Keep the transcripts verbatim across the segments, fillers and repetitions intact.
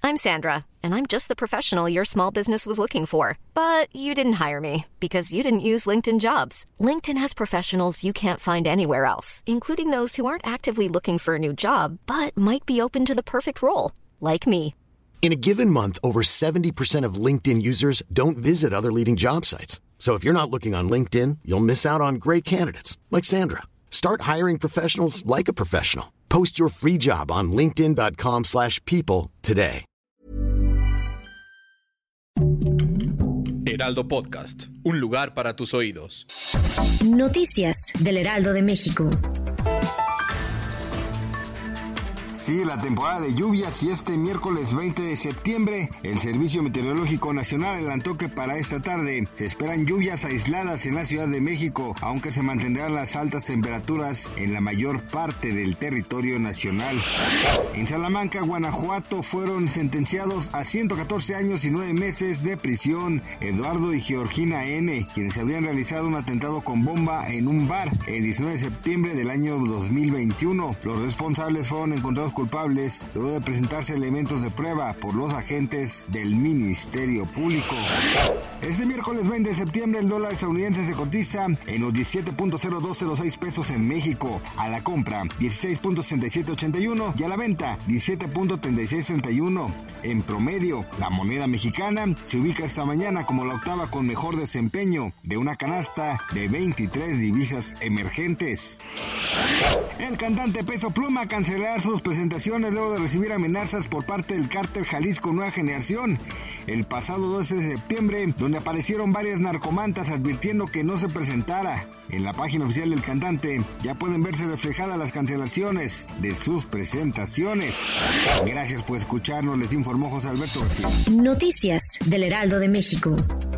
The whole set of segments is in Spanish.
I'm Sandra, and I'm just the professional your small business was looking for. But you didn't hire me because you didn't use LinkedIn Jobs. LinkedIn has professionals you can't find anywhere else, including those who aren't actively looking for a new job, but might be open to the perfect role, like me. In a given month, over seventy percent of LinkedIn users don't visit other leading job sites. So if you're not looking on LinkedIn, you'll miss out on great candidates like Sandra. Start hiring professionals like a professional. Post your free job on linkedin dot com slash people today. Heraldo Podcast, un lugar para tus oídos. Noticias del Heraldo de México. Sigue la temporada de lluvias y este miércoles veinte de septiembre el Servicio Meteorológico Nacional adelantó que para esta tarde se esperan lluvias aisladas en la Ciudad de México, aunque se mantendrán las altas temperaturas en la mayor parte del territorio nacional. En Salamanca, Guanajuato, fueron sentenciados a ciento catorce años y nueve meses de prisión Eduardo y Georgina N., quienes habrían realizado un atentado con bomba en un bar el diecinueve de septiembre del año dos mil veintiuno. Los responsables fueron encontrados culpables luego de presentarse elementos de prueba por los agentes del Ministerio Público. Este miércoles veinte de septiembre el dólar estadounidense se cotiza en los diecisiete punto cero dos cero seis pesos en México, a la compra dieciséis punto sesenta y siete ochenta y uno y a la venta diecisiete punto treinta y seis treinta y uno. En promedio, la moneda mexicana se ubica esta mañana como la octava con mejor desempeño de una canasta de veintitrés divisas emergentes. El cantante Peso Pluma cancelará sus presentaciones luego de recibir amenazas por parte del cártel Jalisco Nueva Generación el pasado doce de septiembre, donde aparecieron varias narcomantas advirtiendo que no se presentara. En la página oficial del cantante ya pueden verse reflejadas las cancelaciones de sus presentaciones. Gracias por escucharnos, les informó José Alberto García. Noticias del Heraldo de México.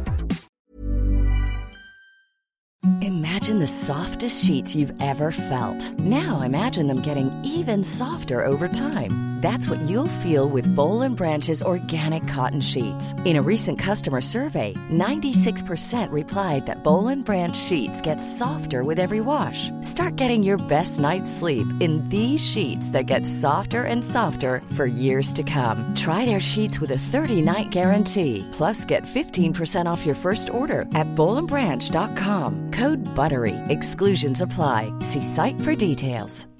Imagine the softest sheets you've ever felt. Now imagine them getting even softer over time. That's what you'll feel with Boll and Branch's organic cotton sheets. In a recent customer survey, ninety-six percent replied that Boll and Branch sheets get softer with every wash. Start getting your best night's sleep in these sheets that get softer and softer for years to come. Try their sheets with a thirty-night guarantee. Plus, get fifteen percent off your first order at boll and branch dot com. Code BUTTERY. Exclusions apply. See site for details.